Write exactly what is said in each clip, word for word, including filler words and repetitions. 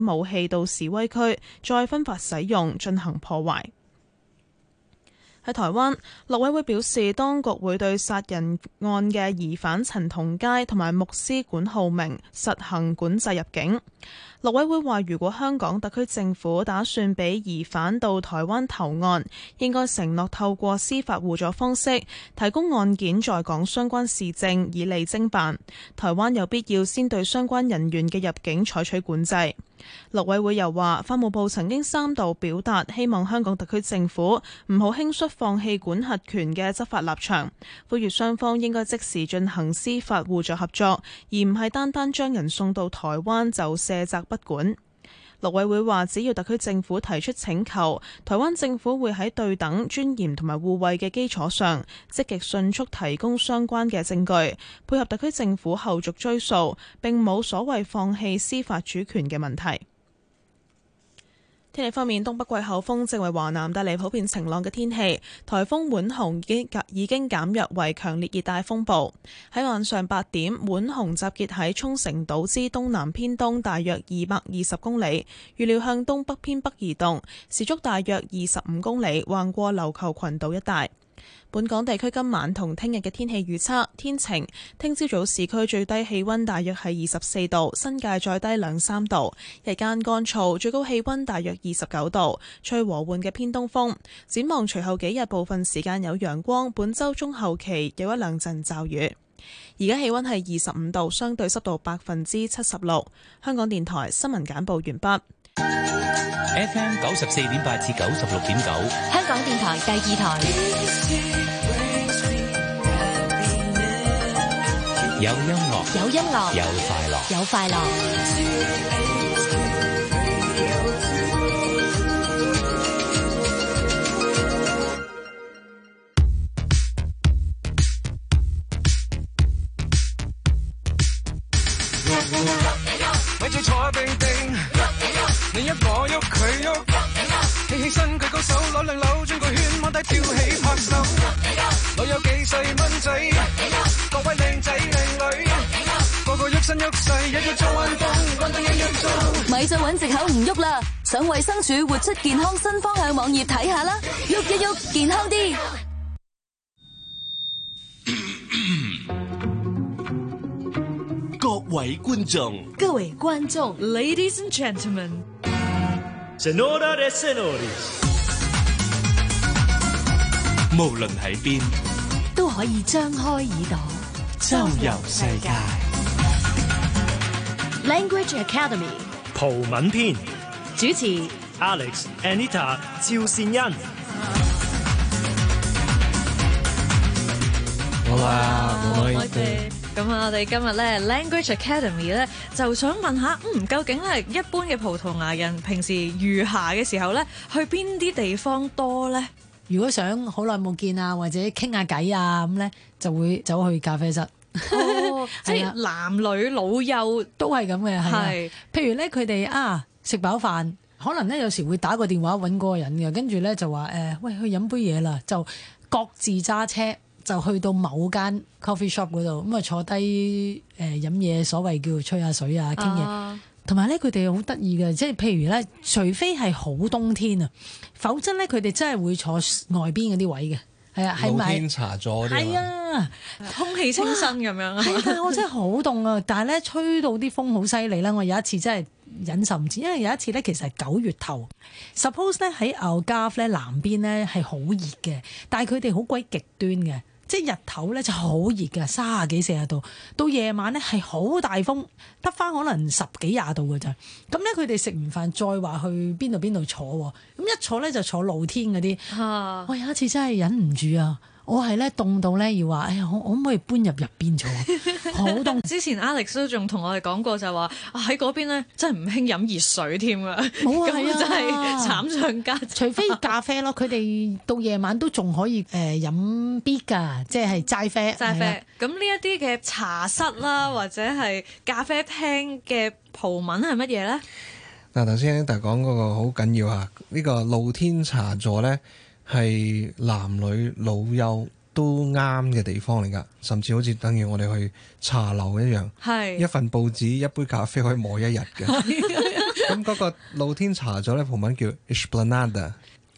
武器到示威區，再分發使用，進行破壞。喺台灣，陸委會表示，當局會對殺人案嘅疑犯陳同佳同埋牧師管浩明實行管制入境。陸委會話，如果香港特區政府打算俾疑犯到台灣投案，應該承諾透過司法互助方式提供案件在港相關事證，以利偵辦。台灣有必要先對相關人員嘅入境採取管制。陸委會又話，法務部曾經三度表達希望香港特區政府唔好輕率放棄管轄權嘅執法立場，呼籲雙方應該即時進行司法互助合作，而唔係單單將人送到台灣就卸責不管。陸委會話，只要特區政府提出請求，台灣政府會喺對等、尊嚴同埋互惠嘅基礎上，積極迅速提供相關嘅證據，配合特區政府後續追訴，並冇所謂放棄司法主權嘅問題。天氣方面，東北季候風正為華南帶嚟普遍晴朗嘅天氣，颱風滿紅已經已經減弱為強烈熱帶風暴。喺晚上八點，滿紅集結喺沖繩島之東南偏東大約二百二十公里，預料向東北偏北移動，時速大約二十五公里，橫過琉球群島一帶。本港地區今晚同聽日嘅天氣預測，天晴，聽朝早市區最低氣溫大約係二十四度，新界再低兩三度，日間乾燥，最高氣溫大約二十九度，吹和緩嘅偏東風。展望隨後幾日部分時間有陽光，本週中後期有一兩陣驟雨。而家氣溫係二十五度，相對濕度百分之七十六。香港電台新聞簡報完畢。 F M 九十四點八至九十六點九， 香港電台第二台。 有音樂， 有音樂， 有快樂， 有快樂。 咪住坐定定，你喐我喐佢喐，企起身舉高手攞兩扭轉個圈，摸低跳起拍手。我有幾細蚊仔，各位靚仔靚女，個個喐身喐勢，日日做運動，運動日日做。 咪再揾藉口唔喐啦，上衛生署活出健康新方向網頁睇下啦，喐一喐健康啲。 各位觀眾， 各位觀眾 ，Ladies and gentlemen，Senora de senores， 無論喺邊， 都可以張開耳朵， 周遊世界。 Language Academy 葡文篇主持 Alex、Anita、趙善恩。 好啦，我哋咁啊！我哋今日咧 Language Academy 咧就想問下，嗯，究竟咧一般嘅葡萄牙人平時餘暇嘅時候咧，去邊啲地方多咧？ 如果想好耐冇見啊，或者傾下偈啊，咁咧就會走去咖啡室。 哦，即係男女老幼都係咁嘅， 係。 譬如咧，佢哋啊食飽飯，可能咧有時會打個電話揾嗰個人嘅，跟住咧就話誒、呃，喂，去飲杯嘢啦，就各自揸車。就去到某間 coffee shop 嗰度，咁啊坐低誒飲嘢，所謂叫吹下水啊，傾嘢。同埋咧，佢哋好得意嘅，即係譬如咧，除非係好冬天啊，否則咧佢哋真係會坐外邊嗰啲位嘅。係啊，係咪？ 露天茶座嗰啲係啊， 空氣清新咁樣啊。 係啊，我真係好凍啊！但係咧，吹到啲風好犀利啦。我有一次真係忍受唔住，因為有一次咧，其實係九月頭 ，suppose 咧喺 Algarve 咧南邊咧係好熱嘅，但係佢哋好鬼極端嘅。即係日頭咧就好熱嘅，三十幾四十度，到夜晚咧係好大風，得翻可能十幾廿度嘅咋。咁咧佢哋食完飯再話去邊度邊度坐喎，咁一坐咧就坐露天嗰啲。啊、我有一次真係忍唔住啊！我係咧凍到咧要話，哎呀，我我可唔可以搬入入邊坐？好凍。 之前 Alex 都仲同我哋講過就話喺嗰邊咧真係唔興飲熱水添啊！ 冇啊， 咁真係慘上加慘。 除非咖啡咯，佢哋到夜晚都仲可以誒、呃、飲 B 㗎，即係齋啡。 齋啡。咁呢一啲嘅茶室啦，或者係咖啡廳嘅葡文係乜嘢咧？ 嗱，頭先大講嗰個好緊要啊！呢、呢個露天茶座咧。係男女老幼都啱嘅地方嚟㗎，甚至好似等於我哋去茶樓一樣，係一份報紙一杯咖啡可以磨一日嘅。 咁嗰個露天茶座咧，葡文叫 Esplanada。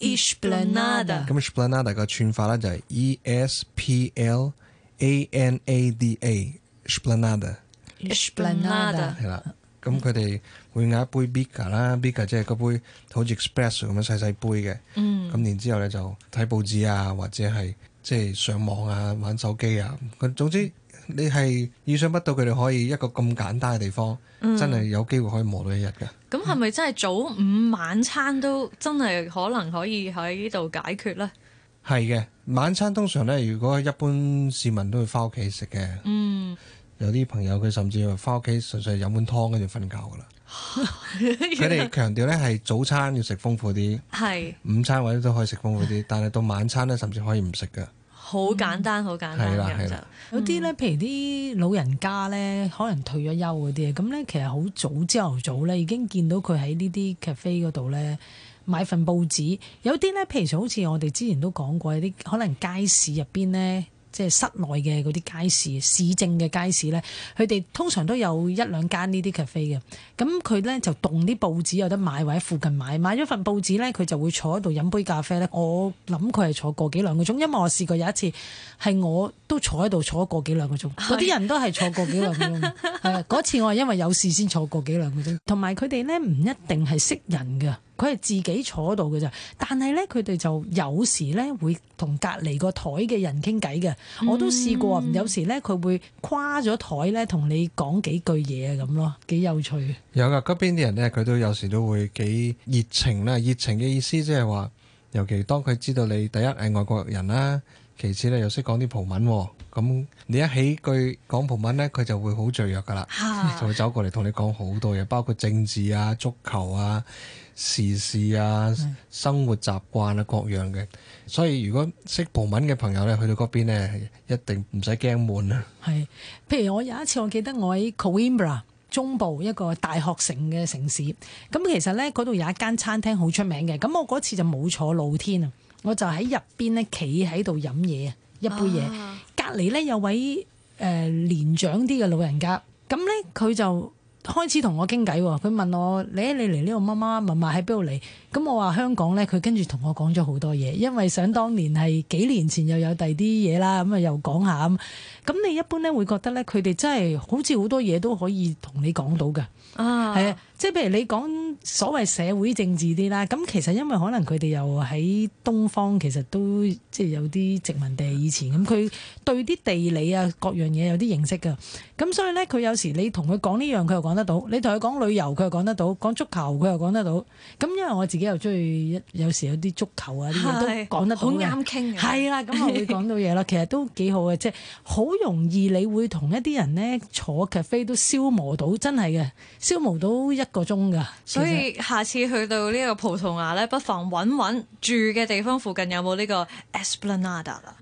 Esplanada。 咁 Esplanada 個串法咧就係 E S P L A N A D A。Esplanada。 Esplanada。 係啦。咁佢哋會嗌一杯 Bica 啦 ，Bica 即係嗰杯好似 Espresso 咁樣細細杯嘅。嗯。咁然之後咧就睇報紙啊，或者係即係上網啊、玩手機啊。佢總之你係意想不到佢哋可以一個咁簡單嘅地方，嗯、真係有機會可以磨到一日㗎。 咁係咪真係早午晚餐都真係可能可以喺呢度解決咧？ 係嘅，晚餐通常咧，如果一般市民都會翻屋企食嘅。嗯。有啲朋友佢甚至話翻屋企純粹係飲碗湯跟住瞓覺㗎啦。佢哋強調咧係早餐要食豐富啲，係午餐或者都可以食豐富啲，但係到晚餐咧甚至可以唔食㗎。好簡單，好簡單嘅就有啲咧，譬如啲老人家咧，可能退咗休嗰啲，咁咧其實好早朝頭早咧已經見到佢喺呢啲 cafe 嗰度咧買份報紙。有啲咧，譬如好似我哋之前都講過，有啲可能街市入邊咧。即係室內嘅嗰啲街市、市政嘅街市咧，佢哋通常都有一兩間呢啲 cafe 嘅。咁佢咧就凍啲報紙有得買，或者附近買。買咗份報紙咧，佢就會坐喺度飲杯咖啡咧。我諗佢係坐個幾兩個鐘，因為我試過有一次係我都坐喺度坐個幾兩個鐘。嗰啲人都係坐個幾兩個鐘。係啊，嗰次我係因為有事先坐個幾兩個鐘。同埋佢哋咧唔一定係識人㗎。佢係自己坐喺度嘅咋，但係咧佢哋就有時咧會同隔離個台嘅人傾偈嘅，我都試過。嗯、有時咧佢會跨咗台咧同你講幾句嘢咁咯，幾有趣。 有噶，嗰邊啲人咧佢都有時都會幾熱情啦。熱情嘅意思即係話，尤其當佢知道你第一係外國人啦，其次咧又識講啲葡文，咁你一起句講葡文咧，佢就會好雀躍噶啦，就會走過嚟同你講好多嘢，包括政治啊、足球啊、時事啊、生活習慣啊各樣嘅。所以如果識葡文嘅朋友咧，去到嗰邊咧，一定唔使驚悶啊。 係，譬如我有一次我記得我喺 Coimbra 中部一個大學城嘅城市，咁其實咧嗰度有一間餐廳好出名嘅，咁我嗰次就冇坐露天啊，我就喺入邊咧企喺度飲嘢啊，一杯嘢，啊、隔離咧有位誒、呃、年長啲嘅老人家，咁咧佢就開始同我傾偈喎，佢問我你你嚟呢度媽媽嫲嫲喺邊度嚟？咁我話香港咧，佢跟住同我講咗好多嘢，因為想當年係幾年前又有第啲嘢啦，咁啊又講下咁。咁你一般咧會覺得咧，佢哋真係好似好多嘢都可以同你講到㗎，係啊，即係譬如你講所謂社會政治啲啦，咁其實因為可能佢哋又喺東方，其實都即係有啲殖民地以前，咁佢對啲地理啊各樣嘢有啲認識㗎，咁所以咧佢有時你同佢講呢樣，佢又講得到；你同佢講旅遊，佢又講得到；講足球，佢又講得到。咁因為我自己又中意有時有啲足球啊啲嘢都講得到嘅， 好啱傾嘅。 係啦，咁我會講到嘢啦，其實都幾好嘅，即係好容易你會同一啲人咧坐 cafe 都消磨到，真係嘅消磨到一個鐘㗎。 所以下次去到呢個葡萄牙咧，不妨揾揾住嘅地方附近有冇呢個 Esplanada 啦。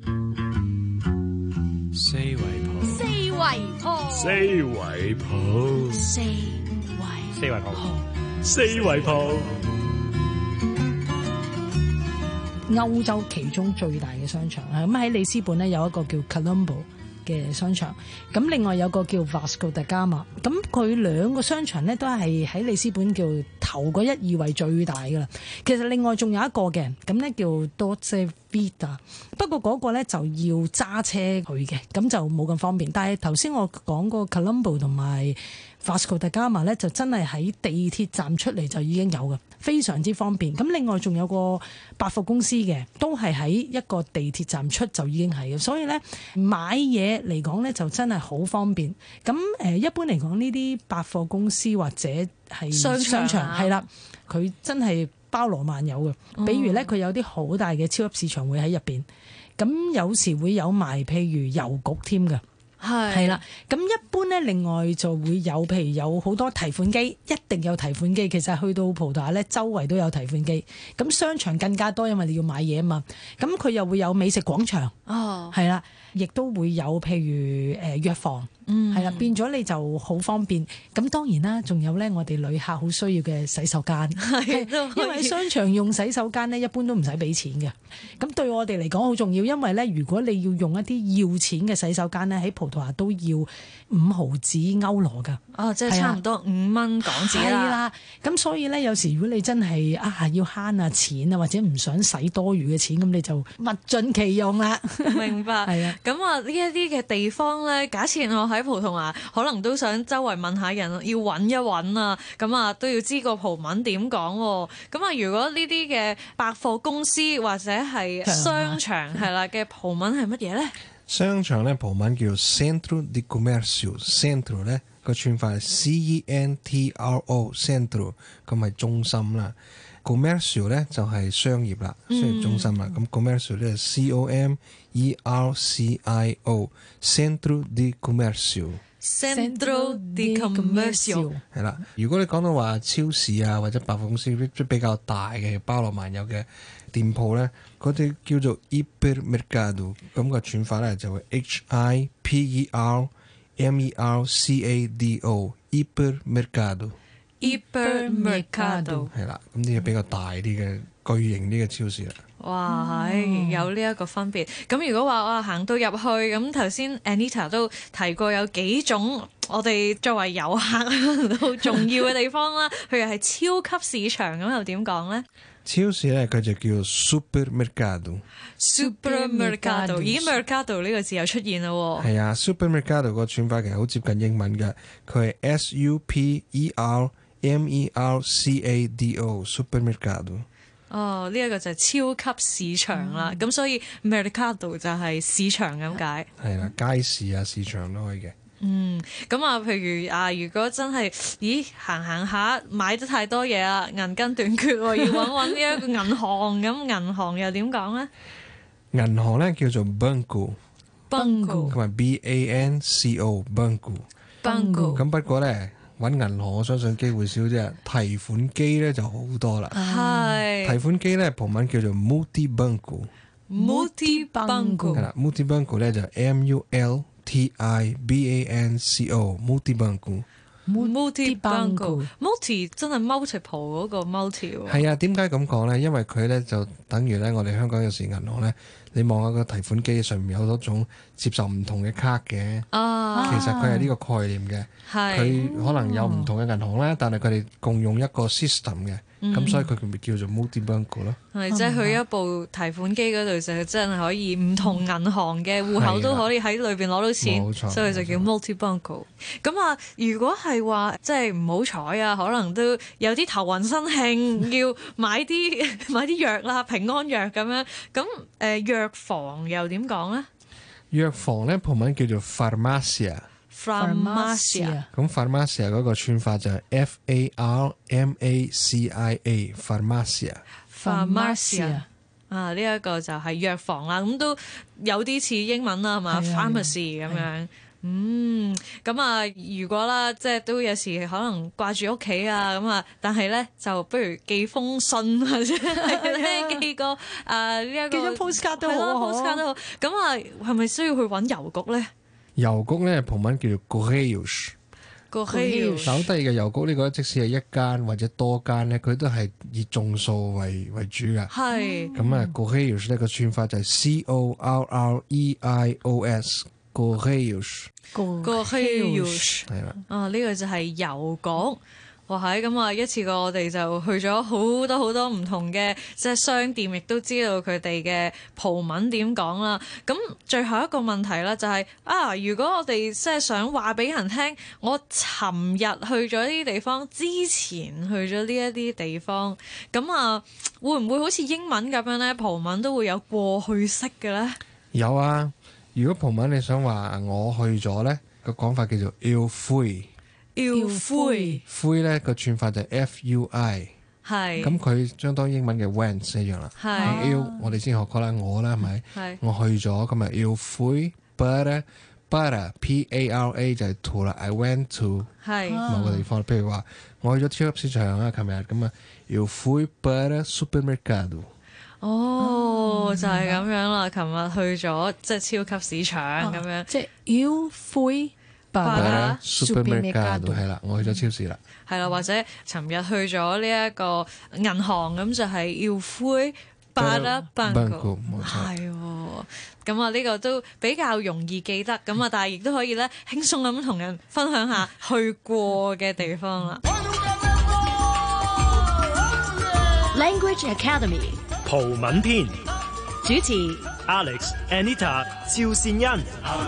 四圍鋪， 四圍鋪， 四圍鋪， 四圍四圍鋪，四圍鋪。 歐洲其中最大嘅商場啊，咁喺里斯本咧有一個叫 Colombo 嘅商場，咁另外有個叫 Vasco da Gama，咁佢兩個商場咧都係喺里斯本叫頭嗰一二位最大噶啦。其實另外仲有一個嘅，咁咧叫 Dolce Vita， 不過嗰個咧就要揸車去嘅，咁就冇咁方便。但係頭先我講個 Colombo 同埋 Vasco da Gama 咧，就真係喺地鐵站出嚟就已經有嘅，非常之方便。咁另外仲有個百貨公司嘅，都係喺一個地鐵站出就已經係嘅，所以咧買嘢嚟講咧就真係好方便。咁誒一般嚟講呢啲百貨公司或者係商場係啦，佢真係包羅萬有嘅。比如咧佢有啲好大嘅超級市場會喺入邊，咁有時會有埋譬如郵局添㗎。係係啦，咁一般咧，另外就會有，譬如有好多提款機，一定有提款機。其實去到葡萄牙咧，周圍都有提款機。咁商場更加多，因為你要買嘢啊嘛。咁佢又會有美食廣場，哦，係啦。 亦都會有譬如誒藥房，係啦、嗯，變咗你就好方便。咁當然啦，仲有咧，我哋旅客好需要嘅洗手間，因為商場用洗手間咧，一般都唔使俾錢嘅。咁對我哋嚟講好重要，因為咧，如果你要用一啲要錢嘅洗手間咧，喺葡萄牙都要五毫子歐羅㗎。 哦，即係差唔多五蚊港紙啦。 咁所以咧，有時如果你真係啊要慳下錢啊，或者唔想使多餘嘅錢，咁你就物盡其用啦。 明白。係啊。咁啊，呢一啲嘅地方咧，假設我喺葡萄牙，可能都想周圍問下人，要揾一揾啊。咁啊，都要知個葡文點講。咁啊，如果呢啲嘅百貨公司或者係商場係啦嘅葡文係乜嘢咧？ 商場咧葡文叫 Centro de Comércio，Centro 咧個串法係 C E N T R O，Centro 咁係中心啦。Comércio 咧就係商業啦，商業中心啦。咁 Comércio 咧係 C O M E R C I O，Centro de Comércio。Centro de Comércio 係啦。如果你講到話超市啊或者百貨公司即比較大嘅包羅萬有嘅店鋪咧，嗰啲叫做 Hipermercado， 咁個串法咧就會 H I P E R M E R C A D O，Hipermercado。Hipermercado 係啦，咁呢個比較大啲嘅巨型啲嘅超市啦。 哇，係有呢一個分別。咁如果話我行到入去，咁頭先 Anita 都提過有幾種我哋作為遊客好重要嘅地方啦，譬如係超級市場，咁又點講咧？ 超市咧佢就叫 supermercado。supermercado， 咦 mercado 呢個字又出現啦喎。 係啊 ，supermercado 個串法其實好接近英文嘅，佢係 S U P E R M E R C A D O，supermercado。 哦，呢、這、一個就係超級市場啦，咁、嗯、所以 mercado 就係市場咁解。 係啦，街市啊，市場都可以嘅。 嗯，咁啊，譬如啊，如果真係，咦，行行下買得太多嘢啦，銀根短缺喎，要揾揾呢一個銀行，咁銀行又點講咧？ 銀行咧叫做 banco，banco 同埋 B A N C O，banco，banco。咁不過咧，揾銀行我相信機會少啫，提款機咧就好多啦。係、嗯、提款機咧葡文叫做 multibanco，multibanco 係啦 ，multibanco 咧就 M U L T I B A N C O，multibanco，multibanco，multi 真係 multiple 嗰個 multi 喎。 係啊，點解咁講咧？因為佢咧就等於咧，我哋香港有時銀行咧，你望下個提款機上面有好多種接受唔同嘅卡嘅。啊，其實佢係呢個概念嘅。係，佢可能有唔同嘅銀行咧，但係佢哋共用一個 system 嘅。咁、嗯、所以佢咪叫做 multibanco 咯，係即係去一部提款機嗰度就真係可以唔同銀行嘅戶口都可以喺裏邊攞到錢，所以就叫 multibanco。咁啊，如果係話即係唔好彩啊，可能都有啲頭暈身慶，要買啲買啲藥啦，平安藥咁樣。咁誒藥房又點講咧？ 藥房咧葡文叫做 farmácia。Farmácia， 咁 Farmácia 嗰個串法就係 F A R M A C I A，Farmácia。Farmácia 啊，呢、這、一個就係藥房啦，咁都有啲似英文啦，係嘛 ？Pharmacy 咁樣。嗯，咁啊，如果啦，即係都有時可能掛住屋企啊，咁啊，但係咧就不如寄封信或者係寄個啊呢一個寄張 postcard 都好 postcard 都好。咁啊，係咪需要去揾郵局咧？ 郵局咧葡文叫做 Correios， Correios。 好得意嘅郵局呢個，即使係一間或者多間咧，佢都係以眾數為為主㗎。係。咁啊 Correios 呢個串法就係 C O R R E I O S，Correios。Correios 係啦。啊， 呢、這個就係郵局。哇，係咁啊！一次過我哋就去咗好多好多唔同嘅即係商店，亦都知道佢哋嘅葡文點講啦。咁最後一個問題啦、就是，就係啊，如果我哋即係想話俾人聽，我尋日去咗呢啲地方，之前去咗呢一啲地方，咁啊，會唔會好似英文咁樣咧？葡文都會有過去式嘅咧？ 有啊！如果葡文你想話我去咗咧，個講法叫做 eu fui。Eu fui，fui 咧個串法就係 F U I， 係咁佢相當英文嘅 went 一樣啦。係 eu 我哋先學過啦，我啦係咪？係我去咗咁啊 eu fui para para P A R A 就係 to 啦 ，I went to 係某個地方。譬如話我去咗超級市場啊，琴日咁啊 eu fui para supermercado。 哦， 哦就係咁樣啦。琴日去咗即係超級市場咁樣， 即係 Eu fui 係啦 para supermercado supermercado 係啦，我去咗超市啦。 係啦，或者尋日去咗呢一個銀行咁就係 Eu fui para banco， 冇錯。 係喎。咁啊，呢個都比較容易記得，咁啊，但係亦都可以咧輕鬆咁同人分享下去過嘅地方啦。 Language Academy 葡文篇主持 Alex、Anita、趙善恩。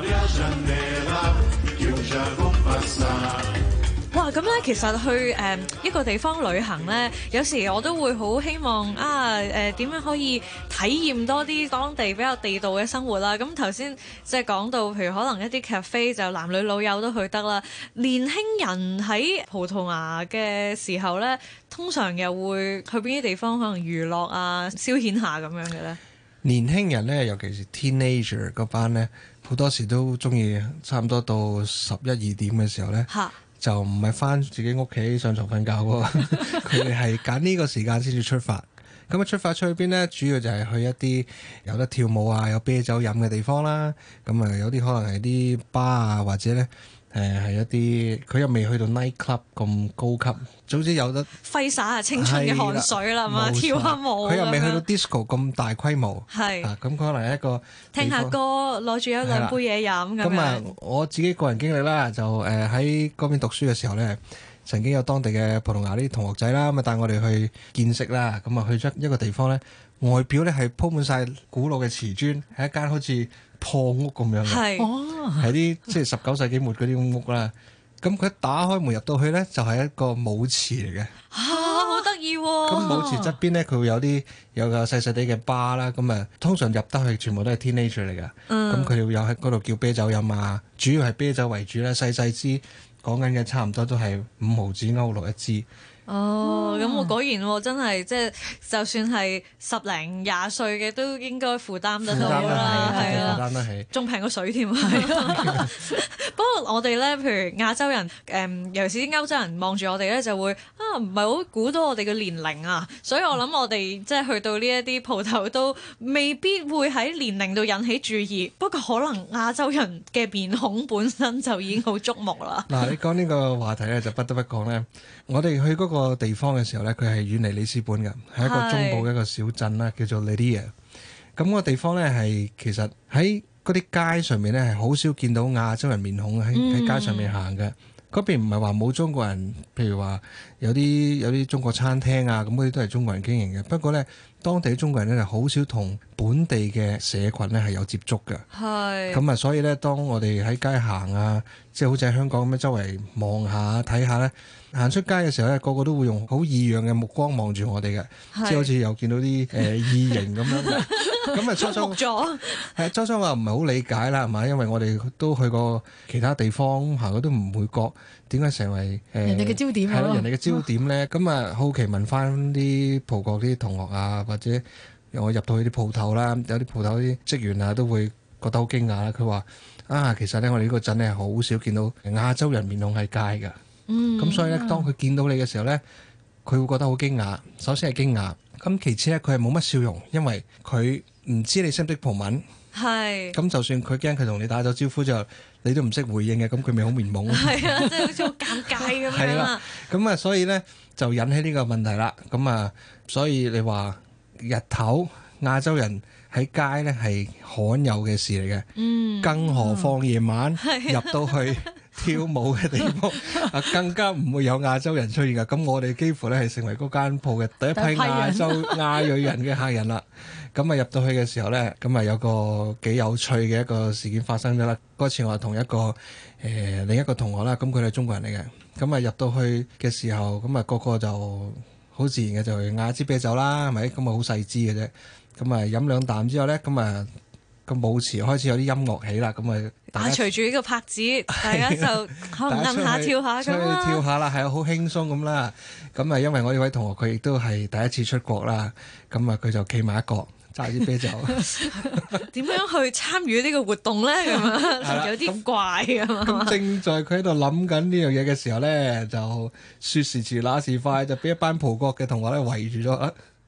哇！咁咧，其實去誒、呃、一個地方旅行咧，有時我都會好希望啊誒點、呃、樣可以體驗多啲當地比較地道嘅生活啦。咁頭先即係講到，譬如可能一啲 cafe 就男女老幼都去得啦。年輕人喺葡萄牙嘅時候咧，通常又會去邊啲地方可能娛樂啊、消遣下咁樣嘅咧？ 年輕人咧，尤其是 teenager 嗰班咧，好多時都中意差唔多到十一二點嘅時候咧。 嚇！ 就唔係翻自己屋企上床瞓覺喎，佢哋係揀呢個時間先至出發。咁啊出發出去邊呢？主要就係去一啲有得跳舞啊、有啤酒飲嘅地方啦。咁啊有啲可能係啲 bar 啊，或者呢誒係一啲佢又未去到 night club 咁高級，總之有得揮灑下青春嘅汗水啦嘛，跳下舞。 佢又未去到 disco 咁大規模。 係啊，咁可能係一個聽下歌，攞住一兩杯嘢飲咁樣。 咁啊，我自己個人經歷啦，就誒喺嗰邊讀書嘅時候咧，曾經有當地嘅葡萄牙啲同學仔啦，咁啊帶我哋去見識啦，咁啊去咗一個地方咧，外表咧係鋪滿晒古老嘅瓷磚，係一間好似破屋咁樣嘅， 係係啲即係十九世紀末嗰啲屋啦。咁佢一打開門入到去咧，就係一個舞池嚟嘅。 嚇，好得意喎！ 咁舞池側邊咧，佢會有啲有個細細啲嘅吧啦。咁啊，通常入得去全部都係 teenager 嚟嘅。咁佢哋會有喺嗰度叫啤酒飲啊，主要係啤酒為主啦，細細支。講緊嘅差唔多都係五毫子歐羅一支。 哦，咁我果然喎，真係即係就算係十零廿歲嘅都應該負擔得到啦，係啦， 負擔得起， 仲平過水添。不過我哋咧，譬如亞洲人，誒尤其是啲歐洲人望住我哋咧，就會啊唔係好估到我哋嘅年齡啊，所以我諗我哋即係去到呢一啲鋪頭都未必會喺年齡度引起注意。不過可能亞洲人嘅面孔本身就已經好觸目啦。 嗱，你講呢個話題咧，就不得不講咧，我哋去嗰個地方嘅時候咧，佢係遠離里斯本嘅，係一個中部嘅一個小鎮啦，叫做 Leiria。咁個地方咧係其實喺嗰啲街上面咧係好少見到亞洲人面孔喺喺街上面行嘅。嗰邊唔係話冇中國人，譬如話有啲有啲中國餐廳啊，咁嗰啲都係中國人經營嘅。不過咧，當地中國人咧係好少同本地嘅社群咧係有接觸嘅。 係。 咁啊，所以咧，當我哋喺街行啊，即係好似喺香港咁樣周圍望下睇下咧，行出街嘅時候咧，個個都會用好異樣嘅目光望住我哋嘅，即係好似又見到啲誒異形咁樣嘅。咁啊，初初咗係初初我唔係好理解啦，係嘛？因為我哋都去過其他地方行，過都唔會覺點解成為誒、呃、 人哋嘅焦點係咯，人哋嘅焦點咧。咁啊，好奇問翻啲葡國啲同學啊，或者我入到去啲鋪頭啦，有啲鋪頭啲職員啊都會覺得好驚訝啦。佢話啊，其實咧我哋呢個鎮咧好少見到亞洲人面孔喺街㗎。嗯，咁所以咧，當佢見到你嘅時候咧，佢會覺得好驚訝。首先係驚訝，咁其次咧，佢係冇乜笑容，因為佢唔知你識唔識葡文。 係。 咁就算佢驚佢同你打咗招呼之後，你都唔識回應嘅，咁佢咪好面懵。 係啊，即係好似好尷尬咁樣啦。係啦， 咁啊，所以咧就引起呢個問題啦。咁啊，所以你話日頭亞洲人喺街咧係罕有嘅事嚟嘅。嗯。更何況夜晚入到去跳舞嘅地方啊，更加唔會有亞洲人出現㗎。咁我哋幾乎咧係成為嗰間鋪嘅第一批亞洲亞裔人嘅客人啦。咁啊入到去嘅時候咧，咁啊有個幾有趣嘅一個事件發生咗啦。嗰次我同一個誒、呃、另一個同學啦，咁佢哋係中國人嚟嘅。咁啊入到去嘅時候，咁啊個個就好自然嘅就嗌支啤酒啦，係咪？咁啊好細支嘅啫。咁啊飲兩啖之後咧，咁啊個舞池開始有啲音樂起啦，咁啊打隨住呢個拍子，大家就可能摁下跳下咁啦。 跳下啦，係啊，好輕鬆咁啦。咁啊，因為我呢位同學佢亦都係第一次出國啦，咁啊佢就企埋一角揸啲啤酒。 點樣去參與呢個活動咧？咁啊有啲怪啊嘛。 咁正在佢喺度諗緊呢樣嘢嘅時候咧，就說時遲那時快，就俾一班葡國嘅同學咧圍住咗。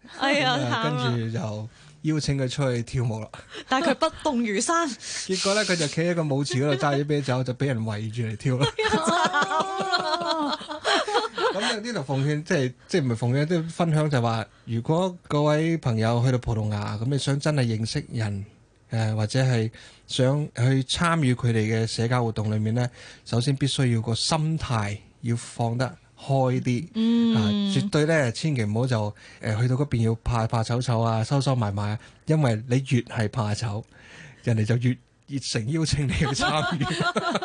哎呀， 咁啊慘啊跟住就邀請佢出去跳舞啦。 但係佢不動如山， 結果咧，佢就企喺個舞池嗰度揸住啤酒，就俾人圍住嚟跳啦。咁有啲就奉勸，即係即係唔係奉勸，即係分享就話，如果各位朋友去到葡萄牙，咁你想真係認識人，誒、呃、或者係想去參與佢哋嘅社交活動裏面咧，首先必須要個心態要放得開啲， 嗯啊，絕對咧，千祈唔好就誒、呃、去到嗰邊要怕怕醜醜啊，收收埋埋啊，因為你越係怕醜，人哋就越熱誠邀請你去參與。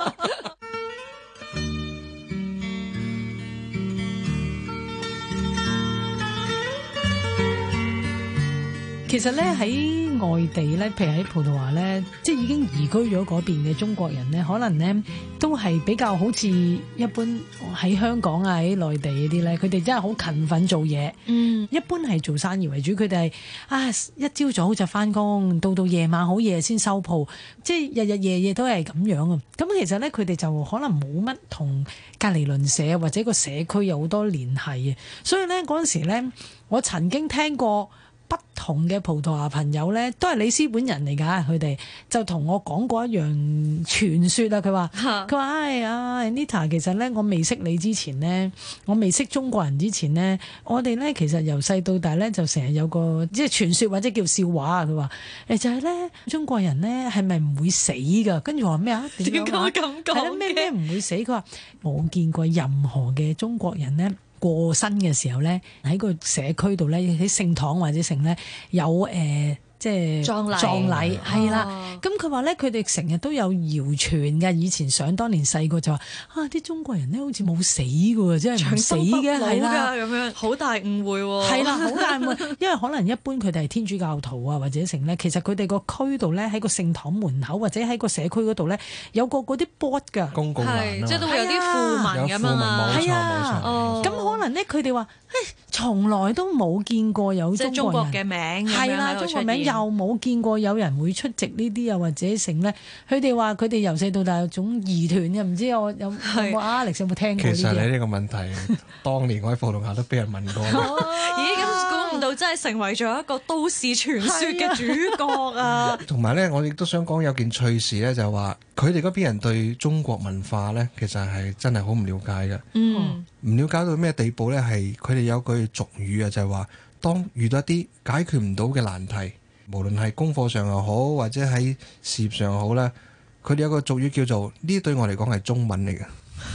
其實咧喺外地咧，譬如喺葡萄牙咧，即係已經移居咗嗰邊嘅中國人咧，可能咧都係比較好似一般喺香港啊喺內地嗰啲咧，佢哋真係好勤奮做嘢。 嗯， 一般係做生意為主，佢哋係啊一朝早就翻工，到到夜晚好夜先收鋪，即係日日夜夜都係咁樣啊。咁其實咧，佢哋就可能冇乜同隔離鄰舍或者個社區有好多聯繫嘅，所以咧嗰陣時咧，我曾經聽過不同嘅葡萄牙朋友咧，都係里斯本人嚟㗎，佢哋就同我講過一樣傳說啊。佢話佢話唉呀 Anita， 其實咧我未識你之前咧，我未識中國人之前咧，我哋咧其實由細到大咧就成日有個即係傳說或者叫笑話啊。佢話誒就係咧中國人咧係咪唔會死㗎？跟住我話咩啊？點點解解咁講係啦，咩咩唔會死？佢話冇見過任何嘅中國人咧過身嘅時候咧，喺個社區度咧，喺聖堂或者成咧有誒、呃，即係葬禮葬禮係啦。 哦咁佢話咧，佢哋成日都有謠傳嘅。以前想當年細個就話啊，啲中國人咧好似冇死嘅喎，即係唔死嘅係啦。 咁樣好大誤會喎。 係啦，好大誤會，因為可能一般佢哋係天主教徒啊，或者成咧，其實佢哋個區度咧喺個聖堂門口或者喺個社區嗰度咧有個嗰啲 board 㗎。 公共欄係即係都會有啲訃聞咁啊嘛。 有訃聞冇錯係啊冇錯哦咁可能咧，佢哋話誒，從來都冇見過有即係中國中國人嘅名咁係啦， 樣喺度中國名出現又冇見過有人會出席呢啲啊，或者成咧，佢哋話佢哋由細到大有種疑團嘅，唔知我有有係冇 Alex 有冇聽過呢其實啲啊？ 你呢個問題，當年我喺葡萄牙都俾人問過。 咦，咁估唔到真係成為咗一個都市傳說嘅主角啊！ 同埋咧，我亦都想講有件趣事咧，就係話佢哋嗰邊人對中國文化咧，其實係真係好唔了解嘅。 嗯， 唔了解到咩地步咧？係佢哋有句俗語啊，就係話當遇到一啲解決唔到嘅難題，無論係功課上又好，或者喺事業上又好咧，佢哋有個俗語叫做呢啲對我嚟講係中文嚟嘅。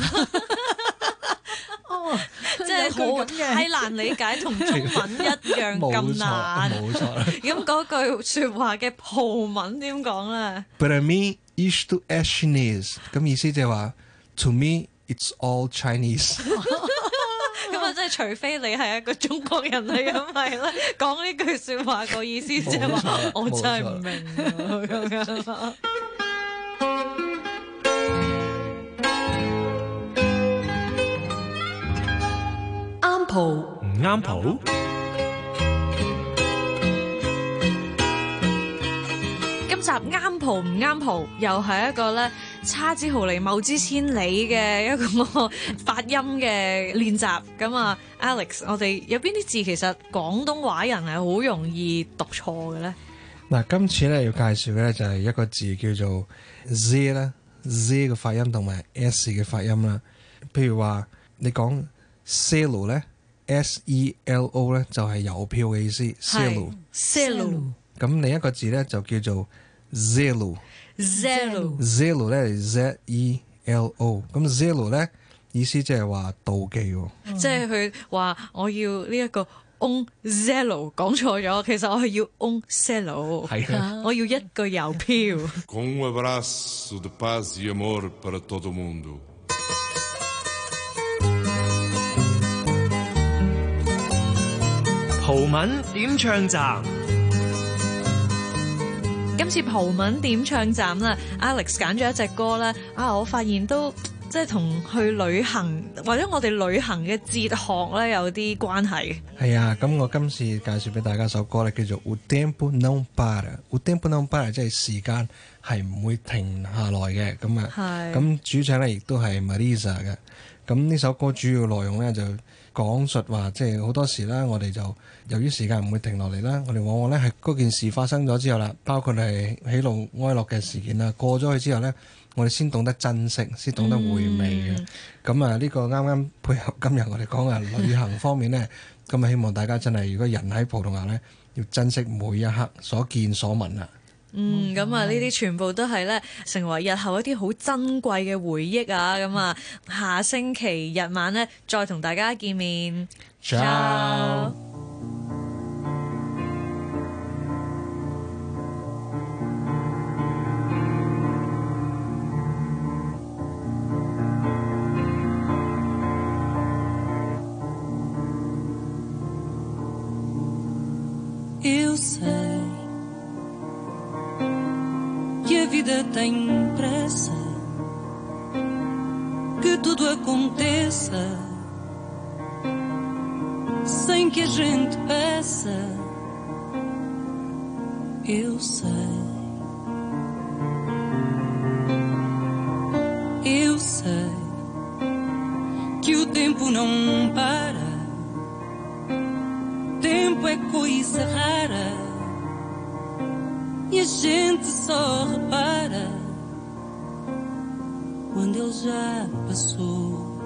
哦， 即係好太難理解，同中文一樣咁難。 冇錯。 咁嗰句説話嘅葡文點講咧？ Para mim isto é chinês，咁意思就係話 To me it's all Chinese。 咁啊，即係除非你係一個中國人嚟，咁係咧講呢句説話個意思即係話冇錯我真係唔明啊咁樣。 啱蒲唔啱蒲？ 今集啱蒲唔啱蒲，又係一個咧差之毫釐謬之千里嘅一個發音嘅練習。咁啊 ，Alex，我哋有邊啲字其實廣東話人係好容易讀錯嘅咧？ 嗱，今次咧要介紹嘅咧就係一個字叫做 Z 啦，Z 嘅發音同埋 S 嘅發音啦。譬如話你講 selo 咧 ，S E L O 咧就係郵票嘅意思 ，selo。 Selo 咁另一個字咧就叫做 zelo。 Zelo zelo 咧係 Z E L O。咁 zelo 咧意思即係話妒忌喎。 即係佢話我要呢一個 on Zelo 講錯咗，其實我係要 on Selo， 係啊。 我要一個郵票。 Com um abraço de paz e amor para todo mundo. 葡文點唱站？ 今次葡文點唱站啦 ，Alex 揀咗一隻歌咧，啊，我發現都即係同去旅行或者我哋旅行嘅哲學咧有啲關係。 係啊，咁我今次介紹俾大家首歌咧，叫做 O Tempo Não Para。O Tempo Não Para 即係時間係唔會停下來嘅。咁啊， 係咁主唱咧亦都係 Marisa 嘅。 咁呢首歌主要內容呢，就講述話，即係好多時啦，我哋就由於時間唔會停落嚟啦，我哋往往呢係嗰件事發生咗之後啦，包括係喜怒哀樂嘅事件啦，過咗去之後呢，我哋先懂得珍惜，先懂得回味嘅。咁、嗯、啊，呢個啱啱配合今日我哋講嘅旅行方面呢，咁啊希望大家真係，如果人喺葡萄牙呢，要珍惜每一刻所見所聞啊！ 嗯，咁啊，呢啲全部都係咧，成為日後一啲好珍貴嘅回憶啊！咁啊，下星期日晚咧，再同大家見面。Ciao。 Eu sei que a vida tem pressa, que tudo aconteça sem que a gente peça. Eu sei, eu sei que o tempo não para. Tempo é coisa rara e a gente só repara quando ele já passou.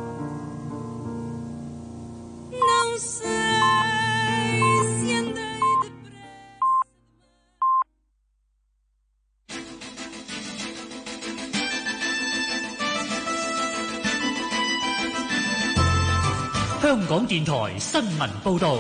Não sei se andei depressa. 香港電台新聞報導。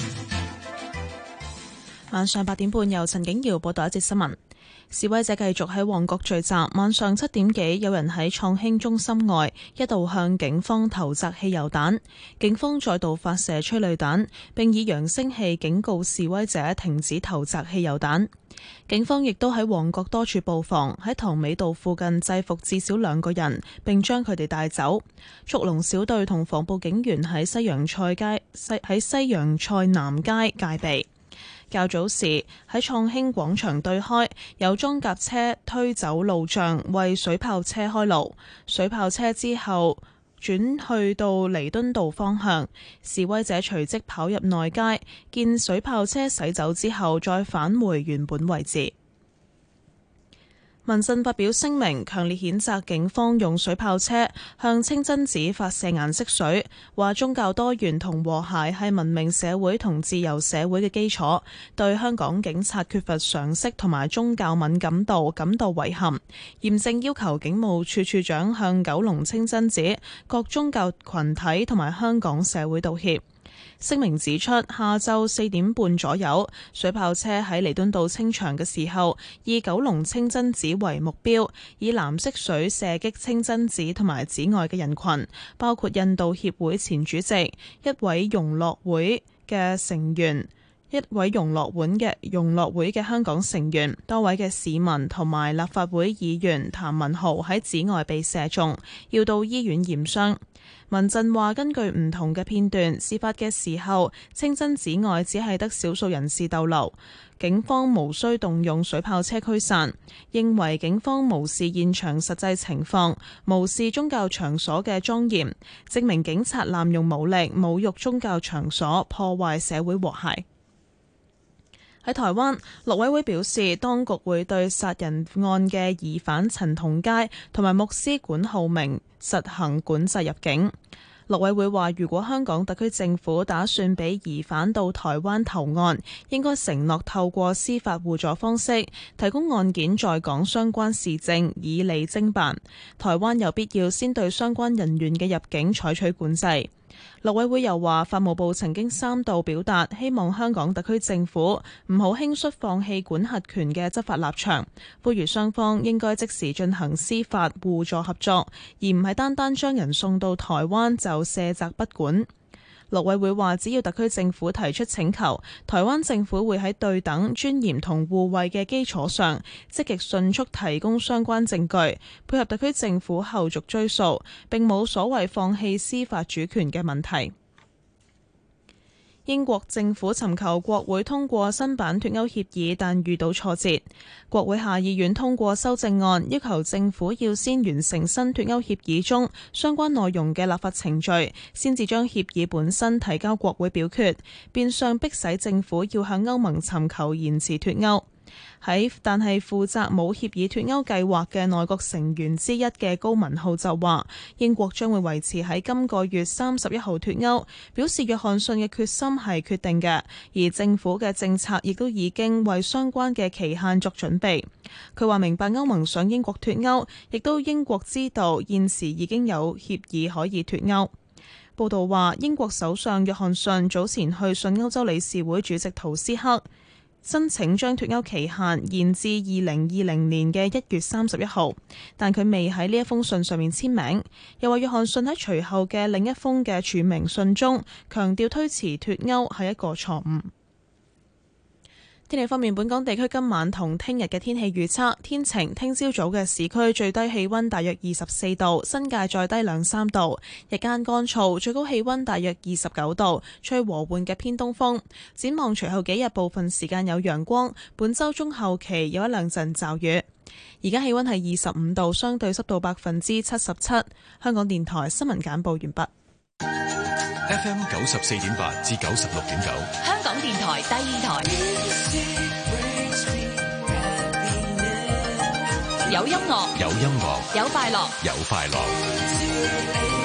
晚上八點半，由陳景瑤報道一節新聞。示威者繼續喺旺角聚集，晚上七點幾，有人喺創興中心外一度向警方投擲汽油彈，警方再度發射催淚彈，並以揚聲器警告示威者停止投擲汽油彈。警方亦都喺旺角多處布防，喺塘尾道附近制服至少兩個人，並將佢哋帶走。速龍小隊同防暴警員喺西洋菜街西喺西洋菜南街戒備。較早時喺創興廣場對開，有裝甲車推走路障，為水炮車開路。水炮車之後轉去到彌敦道方向，示威者隨即跑入內街，見水炮車駛走之後，再返回原本位置。民陣發表聲明，強烈譴責警方用水炮車向清真寺發射顏色水，話宗教多元同和諧係文明社會同自由社會嘅基礎，對香港警察缺乏常識同埋宗教敏感度感到遺憾，嚴正要求警務處處長向九龍清真寺、各宗教群體同埋香港社會道歉。聲明指出，下晝四點半左右，水炮車喺彌敦道清場嘅時候，以九龍清真寺為目標，以藍色水射擊清真寺同埋寺外嘅人群，包括印度協會前主席、一位融樂會嘅成員、一位融樂會嘅融樂會嘅香港成員、多位嘅市民同埋立法會議員譚文豪喺寺外被射中，要到醫院驗傷。民陣話，根據唔同嘅片段，事發嘅時候，清真寺外只係得少數人士逗留，警方無需動用水炮車驅散，認為警方無視現場實際情況，無視宗教場所嘅莊嚴，證明警察濫用武力，侮辱宗教場所，破壞社會和諧。喺台灣，陸委會表示，當局會對殺人案嘅疑犯陳同佳同埋牧師管浩明實行管制入境。陸委會話，如果香港特區政府打算俾疑犯到台灣投案，應該承諾透過司法互助方式，提供案件在港相關事證，以利偵辦。台灣有必要先對相關人員嘅入境採取管制。陸委會又話，法務部曾經三度表達希望香港特區政府唔好輕率放棄管轄權嘅執法立場，呼籲雙方應該即時進行司法互助合作，而唔係單單將人送到台灣就卸責不管。陸委會話，只要特區政府提出請求，台灣政府會喺對等、尊嚴同互惠嘅基礎上，積極迅速提供相關證據，配合特區政府後續追訴，並冇所謂放棄司法主權嘅問題。 英國政府尋求國會通過新版脫歐協議，但遇到挫折。國會下議院通過修正案，要求政府要先完成新脫歐協議中相關內容嘅立法程序，先至將協議本身提交國會表決，變相迫使政府要向歐盟尋求延遲脫歐。喺但係負責冇協議脫歐計劃嘅內閣成員之一嘅高文浩就話，英國將會維持喺今個月三十一號脫歐，表示約翰遜嘅決心係決定嘅，而政府嘅政策亦都已經為相關嘅期限作準備。佢話明白歐盟想英國脫歐，亦都英國知道現時已經有協議可以脫歐。報道話，英國首相約翰遜早前去信歐洲理事會主席圖斯克，申請將脫歐期限延至二零二零年嘅一月三十一號，但佢未喺呢一封信上面簽名。又話約翰遜喺隨後嘅另一封嘅署名信中，強調推遲脫歐係一個錯誤。天氣方面，本港地區今晚同聽日嘅天氣預測天晴，聽朝早嘅市區最低氣溫大約二十四度，新界再低兩三度，日間乾燥，最高氣溫大約二十九度，吹和緩嘅偏東風。展望隨後幾日部分時間有陽光，本週中後期有一兩陣驟雨。而家氣溫係二十五度，相對濕度百分之七十七。香港電台新聞簡報完畢。 F M 九十四點八至九十六點九， 香港電台第二台，有音樂， 有音樂， 有快樂， 有快樂。